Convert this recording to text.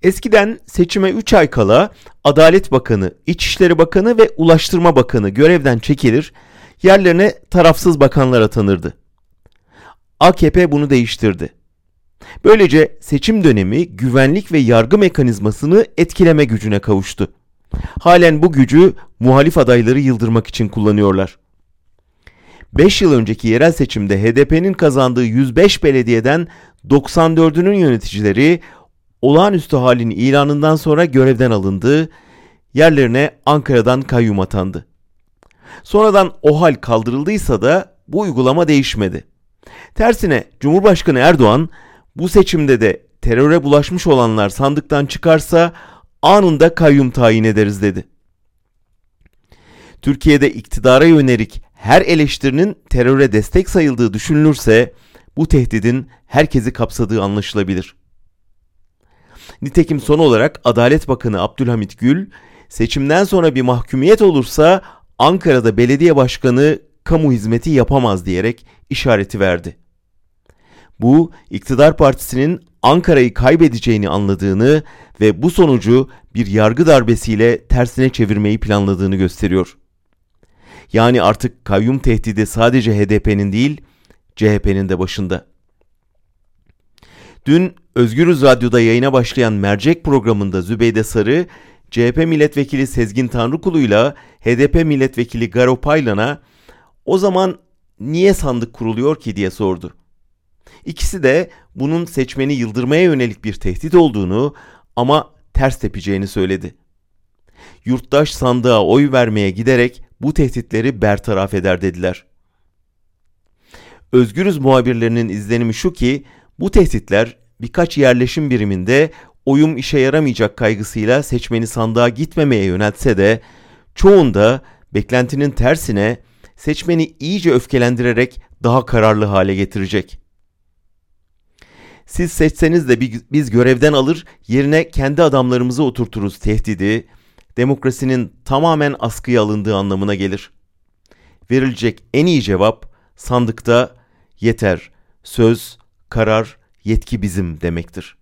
Eskiden seçime 3 ay kala Adalet Bakanı, İçişleri Bakanı ve Ulaştırma Bakanı görevden çekilir, yerlerine tarafsız bakanlar atanırdı. AKP bunu değiştirdi. Böylece seçim dönemi güvenlik ve yargı mekanizmasını etkileme gücüne kavuştu. Halen bu gücü muhalif adayları yıldırmak için kullanıyorlar. 5 yıl önceki yerel seçimde HDP'nin kazandığı 105 belediyeden 94'ünün yöneticileri olağanüstü halin ilanından sonra görevden alındı, yerlerine Ankara'dan kayyum atandı. Sonradan o hal kaldırıldıysa da bu uygulama değişmedi. Tersine Cumhurbaşkanı Erdoğan bu seçimde de teröre bulaşmış olanlar sandıktan çıkarsa anında kayyum tayin ederiz dedi. Türkiye'de iktidara yönelik her eleştirinin teröre destek sayıldığı düşünülürse bu tehdidin herkesi kapsadığı anlaşılabilir. Nitekim son olarak Adalet Bakanı Abdülhamit Gül, seçimden sonra bir mahkumiyet olursa Ankara'da belediye başkanı kamu hizmeti yapamaz diyerek işareti verdi. Bu, iktidar partisinin Ankara'yı kaybedeceğini anladığını ve bu sonucu bir yargı darbesiyle tersine çevirmeyi planladığını gösteriyor. Yani artık kayyum tehdidi sadece HDP'nin değil, CHP'nin de başında. Dün Özgürüz Radyo'da yayına başlayan Mercek programında Zübeyde Sarı, CHP milletvekili Sezgin Tanrıkulu'yla HDP milletvekili Garo Paylan'a o zaman niye sandık kuruluyor ki diye sordu. İkisi de bunun seçmeni yıldırmaya yönelik bir tehdit olduğunu ama ters tepeceğini söyledi. Yurttaş sandığa oy vermeye giderek bu tehditleri bertaraf eder dediler. Özgürüz muhabirlerinin izlenimi şu ki bu tehditler birkaç yerleşim biriminde oyum işe yaramayacak kaygısıyla seçmeni sandığa gitmemeye yöneltse de çoğunda beklentinin tersine seçmeni iyice öfkelendirerek daha kararlı hale getirecek. Siz seçseniz de biz görevden alır, yerine kendi adamlarımızı oturturuz tehdidi, demokrasinin tamamen askıya alındığı anlamına gelir. Verilecek en iyi cevap sandıkta yeter, söz, karar, yetki bizim demektir.